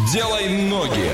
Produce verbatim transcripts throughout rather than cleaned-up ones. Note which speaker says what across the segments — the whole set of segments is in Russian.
Speaker 1: Делай ноги.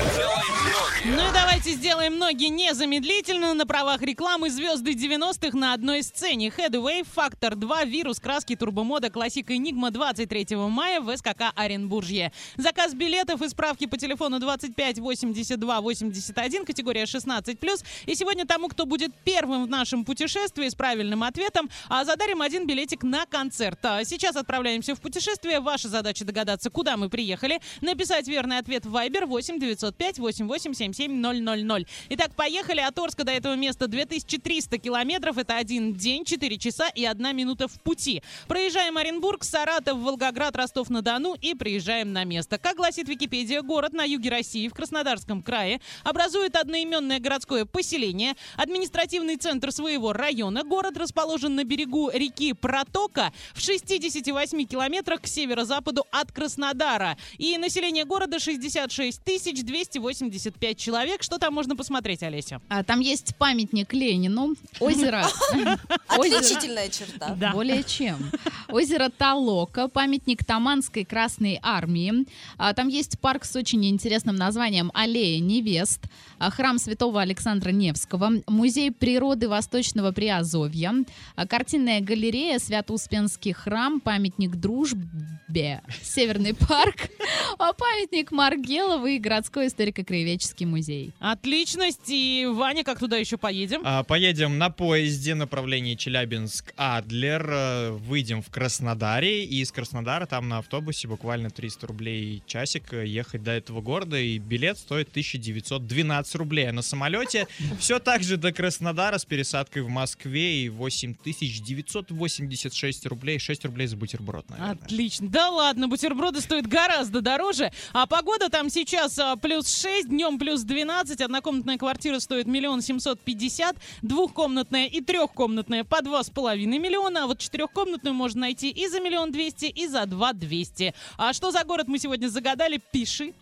Speaker 2: Ну и давайте сделаем ноги незамедлительно. На правах рекламы звезды девяностых на одной сцене. Headway, Фактор два, Вирус, Краски, Турбомода, Классика, Энигма двадцать третьего мая в СКК Оренбуржье. Заказ билетов и справки по телефону двадцать пять восемьдесят два восемьдесят один, категория шестнадцать плюс. И сегодня тому, кто будет первым в нашем путешествии с правильным ответом, задарим один билетик на концерт. Сейчас отправляемся в путешествие. Ваша задача догадаться, куда мы приехали. Написать верный ответ в Viber восемь девятьсот пять восемьдесят восемь семьдесят семь ноль ноль ноль. Итак, поехали. От Орска до этого места две тысячи триста километров. Это один день, четыре часа и одна минута в пути. Проезжаем Оренбург, Саратов, Волгоград, Ростов-на-Дону и приезжаем на место. Как гласит Википедия, город на юге России, в Краснодарском крае, образует одноименное городское поселение, административный центр своего района. Город расположен на берегу реки Протока в шестидесяти восьми километрах к северо-западу от Краснодара. И население города шестьдесят шесть тысяч двести восемьдесят пять человек. Что там можно посмотреть, Олеся?
Speaker 3: А, там есть памятник Ленину, озеро...
Speaker 4: Отличительная черта.
Speaker 3: Более чем. Озеро Толока, памятник Таманской Красной Армии. А, там есть парк с очень интересным названием «Аллея невест», а, храм святого Александра Невского, музей природы Восточного Приазовья, а, картинная галерея Свято-Успенский храм, памятник Дружбе, Северный парк, а, памятник Маргелову и городской историко-краеведческий музей.
Speaker 2: Отличность. И, Ваня, как туда еще поедем?
Speaker 5: А, поедем на поезде направление Челябинск-Адлер. Выйдем в Краснодаре. И из Краснодара там на автобусе буквально триста рублей часик ехать до этого города. И билет стоит тысяча девятьсот двенадцать рублей. А на самолете все так же до Краснодара с пересадкой в Москве. И восемь тысяч девятьсот восемьдесят шесть рублей. шесть рублей за бутерброд, наверное.
Speaker 2: Отлично. Да ладно, бутерброды стоят гораздо дороже. А погода там сейчас а, плюс шесть, днем плюс двенадцать. Однокомнатная квартира стоит миллион семьсот пятьдесят, двухкомнатная и трехкомнатная по два с половиной миллиона, а вот четырехкомнатную можно найти и за миллион двести, и за два двести. А что за город мы сегодня загадали? Пиши.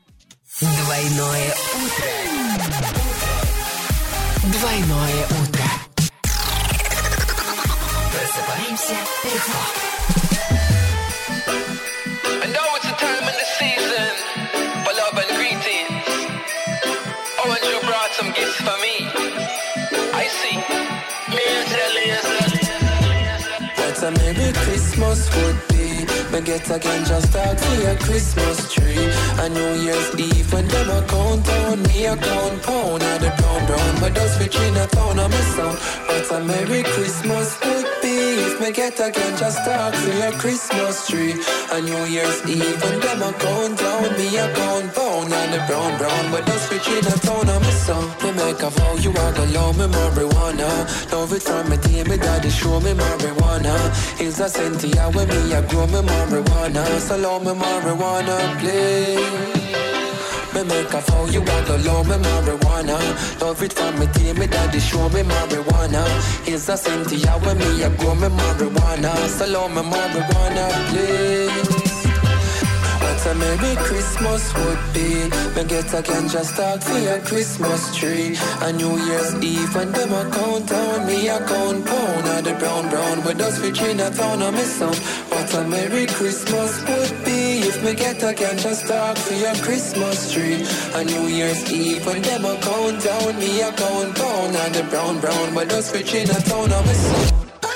Speaker 6: Двойное утро. Двойное утро. Просыпаемся легко.
Speaker 7: Some gifts for me. I see.
Speaker 8: What a Merry Christmas would be. Me get again just talk for your Christmas tree. A New Year's Eve when them a count down, me a count pound of the brown brown. But those rich in a town of my sound. What a Merry Christmas would be. If me get again just talk for your Christmas tree. A New Year's Eve when them a count down, me a count pound of the brown brown. But those rich in a town of my sound. Me make a vow you are gonna love me marijuana. Love it from me day, me daddy show me marijuana. Hills a Cynthia when me a grow me marijuana. So love me marijuana, please. Me make a vow you are gonna love me marijuana. Love it from me day, me daddy show me marijuana. Hills a Cynthia when me a grow me marijuana. So love me marijuana, please. What a Merry Christmas would be. Me get again just talk for your Christmas tree. A New Year's Eve when them a count down, me a count pound of the brown brown. With us rich in a town of my son. What a Merry Christmas would be. If me get again just talk for your Christmas tree. A New Year's Eve when them a count down, me a count pound of the brown brown. With us rich in a town of my son.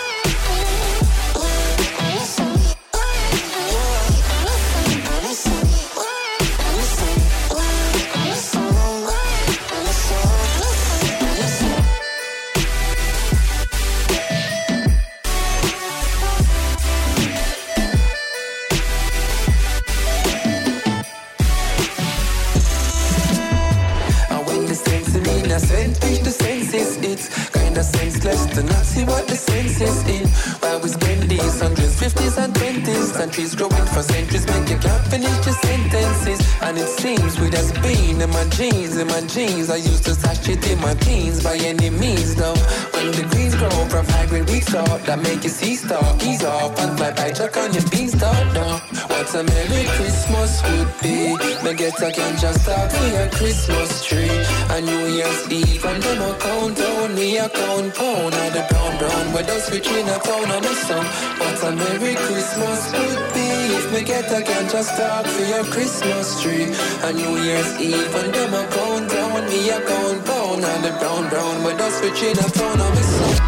Speaker 8: Senseless to not see what the sense is in. While we spend these hundreds, fifties and twenties, countries growing for centuries, make you can't finish your sentences. And it seems with us being in my jeans, in my jeans, I used to stash it in my jeans by any means. Though when the greens grow from high grade wheat stock, that make you see stock, ease off and fly by jack on your beanstalk. No, what a Merry Christmas would be. Me get again just talk for your Christmas tree. A New Year's Eve and them a count down, me a count pound of the brown brown. With us rich in a town of my son. What a Merry Christmas would be. Eve, me get a girl just talk for your Christmas tree. And New Year's Eve, when them a count down, me a count down. And the brown brown, but that's switch in a town of me son.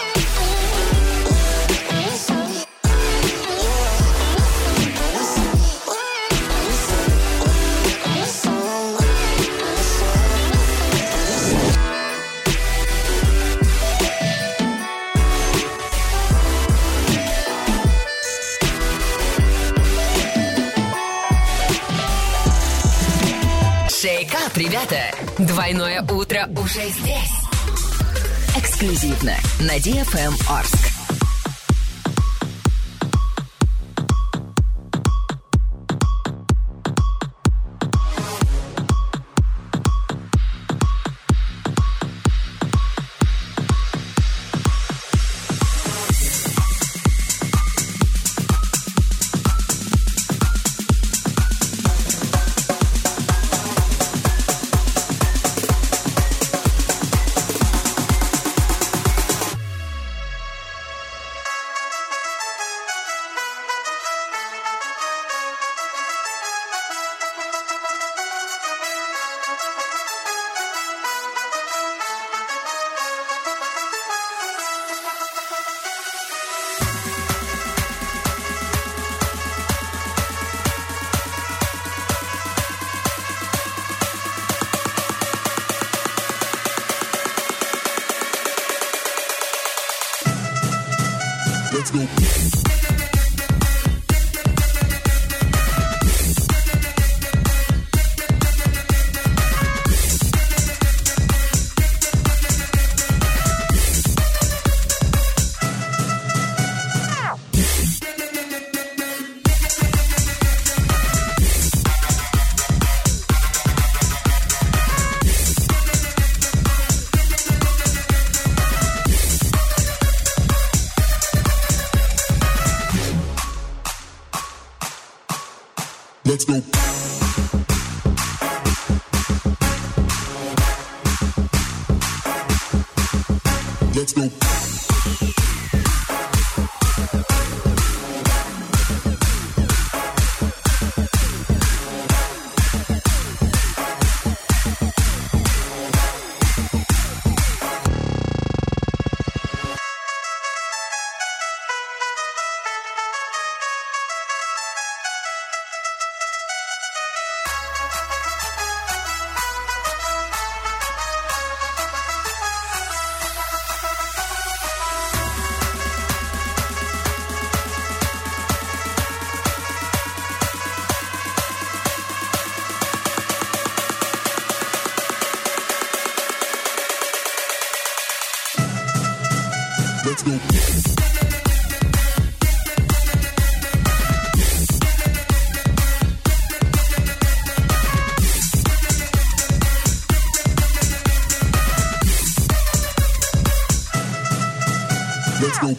Speaker 6: Шейкап, ребята! Двойное утро уже здесь. Эксклюзивно на ди эф эм Орск.
Speaker 8: Let's go. Let's go. Let's go. Let's go. Let's go.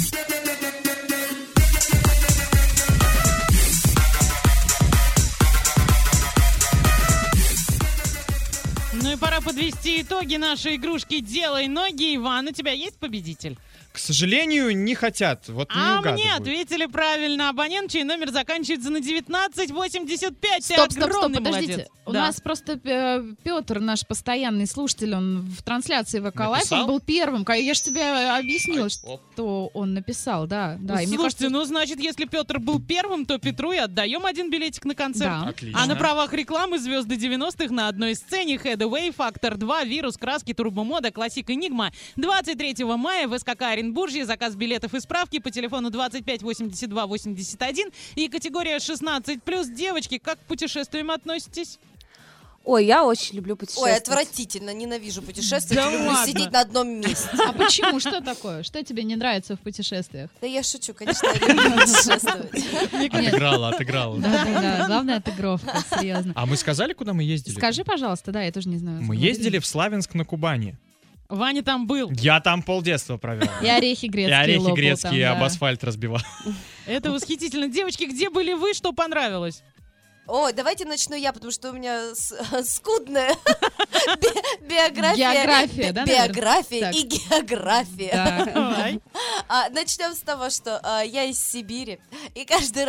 Speaker 2: Ну и пора подвести итоги нашей игрушки «Делай ноги». Иван, у тебя есть победитель?
Speaker 5: К сожалению, не хотят. Вот не
Speaker 2: А
Speaker 5: угадывают.
Speaker 2: мне ответили правильно. Абонент, чей номер заканчивается на девятнадцать восемьдесят пять. Ты
Speaker 3: Стоп, стоп, стоп,
Speaker 2: огромный
Speaker 3: подождите.
Speaker 2: молодец.
Speaker 3: У
Speaker 2: Да.
Speaker 3: нас просто э, Петр, наш постоянный слушатель, он в трансляции ВК Лайф,
Speaker 5: Написал?
Speaker 3: он был первым. Ка- Я же тебе объяснила,
Speaker 5: Ай, оп.
Speaker 3: что он написал, да. да. И мне
Speaker 2: Слушайте,
Speaker 3: кажется,
Speaker 2: ну значит, если Петр был первым, то Петру и отдаем один билетик на концерт.
Speaker 3: Да.
Speaker 5: Отлично.
Speaker 2: А на правах рекламы звезды девяностых на одной сцене Headway, Фактор два, Вирус, Краски, Турбомода, Классик Энигма. двадцать третьего мая в СКК Оренбуржье. Заказ билетов и справки по телефону двадцать пять восемьдесят два восемьдесят один. И категория шестнадцать плюс. Девочки, как к путешествиям относитесь?
Speaker 4: Ой, я очень люблю путешествовать.
Speaker 1: Ой, отвратительно, ненавижу путешествовать,
Speaker 2: Да
Speaker 1: люблю
Speaker 2: ладно.
Speaker 1: сидеть на одном месте.
Speaker 3: а почему? Что такое? Что тебе не нравится в путешествиях?
Speaker 1: Да я шучу, конечно, я люблю путешествовать.
Speaker 5: Отыграла, отыграла.
Speaker 3: Да-да-да, главная отыгровка, серьезно.
Speaker 5: А мы сказали, куда мы ездили?
Speaker 3: Скажи, пожалуйста, да, я тоже не знаю.
Speaker 5: Мы ездили в Славянск на Кубани.
Speaker 2: Ваня там был.
Speaker 5: Я там полдетства провел.
Speaker 3: И орехи
Speaker 5: И
Speaker 3: грецкие
Speaker 5: орехи
Speaker 3: лопал
Speaker 5: грецкие
Speaker 3: там,
Speaker 5: об
Speaker 3: да.
Speaker 5: асфальт разбивал.
Speaker 2: Это восхитительно. Девочки, где были вы, что понравилось?
Speaker 1: Ой, давайте начну я, потому что у меня с- скудная би- биография.
Speaker 3: География,
Speaker 1: би-
Speaker 3: да, наверное?
Speaker 1: Биография
Speaker 3: Так.
Speaker 1: и география.
Speaker 3: Так.
Speaker 2: Давай.
Speaker 1: А, начнем с того, что а, я из Сибири, и каждый раз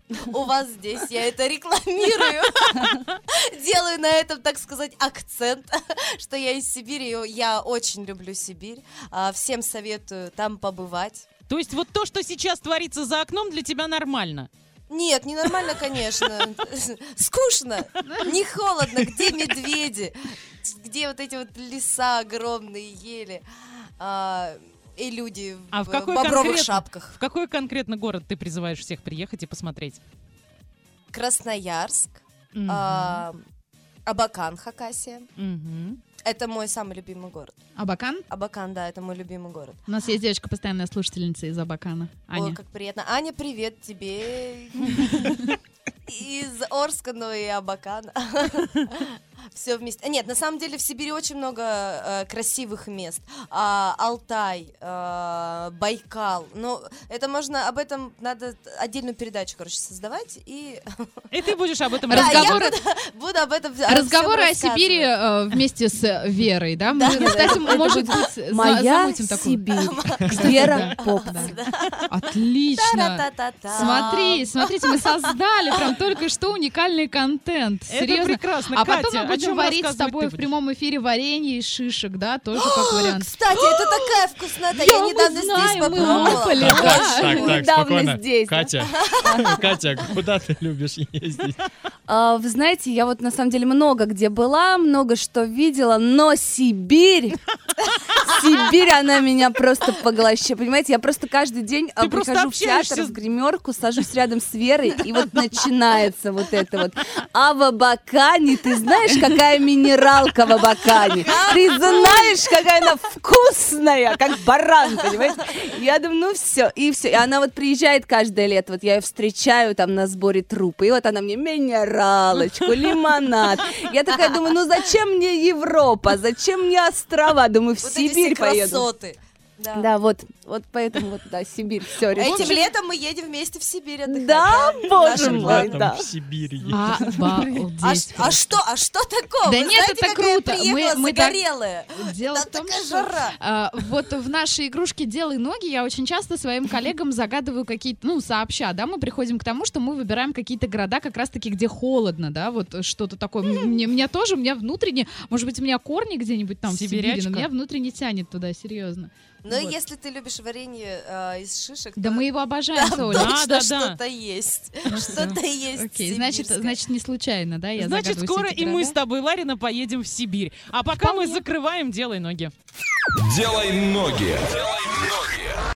Speaker 1: у вас здесь. Я это рекламирую. Делаю на этом, так сказать, акцент, что я из Сибири. Я очень люблю Сибирь. А, Всем советую там побывать.
Speaker 2: То есть вот то, что сейчас творится за окном, для тебя нормально?
Speaker 1: Нет, ненормально, конечно. Скучно, не холодно. Где медведи? Где вот эти вот леса огромные, ели? А, и люди
Speaker 2: А
Speaker 1: в
Speaker 2: в какой
Speaker 1: бобровых
Speaker 2: конкретно-
Speaker 1: шапках.
Speaker 2: В какой конкретно город ты призываешь всех приехать и посмотреть?
Speaker 1: Красноярск,
Speaker 2: Мгм.
Speaker 1: а, Абакан, Хакасия.
Speaker 2: Мгм.
Speaker 1: Это мой самый любимый город.
Speaker 3: Абакан?
Speaker 1: Абакан, да, это мой любимый город.
Speaker 3: У нас есть девочка, постоянная слушательница из Абакана. Аня.
Speaker 1: Ой, как приятно. Аня, привет тебе. Из Орска, но и Абакана. Все вместе. Нет, на самом деле в Сибири очень много э, красивых мест. А, Алтай, э, Байкал. Ну, это можно, об этом надо отдельную передачу, короче, создавать. И
Speaker 2: И ты будешь об этом
Speaker 1: Да, я
Speaker 2: рассказывать.
Speaker 1: буду, буду об этом
Speaker 3: Разговоры о
Speaker 1: всем
Speaker 3: Сибири
Speaker 1: рассказывать.
Speaker 3: э, вместе с Верой, да? Мы, кстати, может быть, за-
Speaker 4: Моя
Speaker 3: замутим такую.
Speaker 4: Сибирь. Вера
Speaker 3: Да.
Speaker 4: Поп.
Speaker 3: Отлично.
Speaker 1: Та-та-та-та.
Speaker 3: Смотри, смотрите, мы создали прям только что уникальный контент.
Speaker 2: Это
Speaker 3: Серьезно.
Speaker 2: прекрасно.
Speaker 3: А потом
Speaker 2: Катя,
Speaker 3: мы
Speaker 2: о
Speaker 3: будем
Speaker 2: чем
Speaker 3: варить с
Speaker 2: рассказывать
Speaker 3: тобой
Speaker 2: ты
Speaker 3: в
Speaker 2: будешь?
Speaker 3: прямом эфире варенье из шишек, да, тоже как вариант.
Speaker 1: Кстати, это такая вкуснота. Я
Speaker 3: Да, мы
Speaker 1: недавно здесь
Speaker 3: знаем, мы
Speaker 1: попробовала.
Speaker 3: лопали,
Speaker 5: Так,
Speaker 3: да.
Speaker 5: так, так,
Speaker 4: Недавно
Speaker 5: спокойно.
Speaker 4: здесь, да?
Speaker 5: Катя, Катя, куда ты любишь ездить?
Speaker 4: А, Вы знаете, я вот на самом деле много где была, много что видела, но Сибирь, Сибирь, она меня просто поглощает. Понимаете, я просто каждый день а,
Speaker 2: Ты просто
Speaker 4: прихожу в
Speaker 2: общаешься
Speaker 4: театр,
Speaker 2: с-
Speaker 4: в гримерку, сажусь рядом с Верой, и вот начинается вот это вот. А в Абакане, ты знаешь, какая минералка в Абакане? Ты знаешь, какая она вкусная, как баран, понимаете? Я думаю, ну все, и все. И она вот приезжает каждое лето, вот я ее встречаю там на сборе трупа, и вот она мне минералочку, лимонад. Я такая думаю, ну зачем мне Европа, зачем мне острова? Думаю, в
Speaker 1: Вот эти все
Speaker 4: Сибирь поеду.
Speaker 1: красоты. Да.
Speaker 4: Да, вот, вот поэтому вот, да, Сибирь, все,
Speaker 1: Этим летом мы едем вместе в Сибирь отдыхать.
Speaker 4: Да, боже
Speaker 1: Нашим
Speaker 4: мой,
Speaker 1: летом.
Speaker 4: да.
Speaker 5: В Сибири.
Speaker 1: А,
Speaker 3: Обалдеть.
Speaker 1: ш- а что, а что такого?
Speaker 3: Да
Speaker 1: Вы
Speaker 3: нет,
Speaker 1: знаете,
Speaker 3: это
Speaker 1: как я
Speaker 3: круто.
Speaker 1: приехала
Speaker 3: Мы- мы так-
Speaker 1: загорелая?
Speaker 3: Дело
Speaker 1: Там
Speaker 3: в том,
Speaker 1: такая
Speaker 3: что
Speaker 1: жара.
Speaker 3: а, вот в нашей игрушке «Делай ноги» я очень часто своим коллегам загадываю какие-то, ну, сообща, да, мы приходим к тому, что мы выбираем какие-то города как раз-таки, где холодно, да, вот что-то такое. М- Мне, меня тоже, у меня внутренне, может быть, у меня корни где-нибудь там в Сибири,
Speaker 2: Сибирячка.
Speaker 3: но меня внутренне тянет туда, серьезно.
Speaker 1: Но
Speaker 3: Вот.
Speaker 1: если ты любишь варенье э, из шишек,
Speaker 3: Да
Speaker 1: то
Speaker 3: мы его обожаем,
Speaker 1: там
Speaker 3: Соля.
Speaker 2: Да,
Speaker 1: точно
Speaker 2: да, да.
Speaker 1: что-то есть. Что-то есть
Speaker 3: Окей, значит,
Speaker 1: сибирское.
Speaker 3: значит, не случайно, да, я
Speaker 2: Значит,
Speaker 3: загадываю
Speaker 2: скоро
Speaker 3: все эти
Speaker 2: и мы
Speaker 3: города.
Speaker 2: с тобой, Ларина, поедем в Сибирь. А пока мы закрываем «Делай ноги».
Speaker 9: Делай ноги.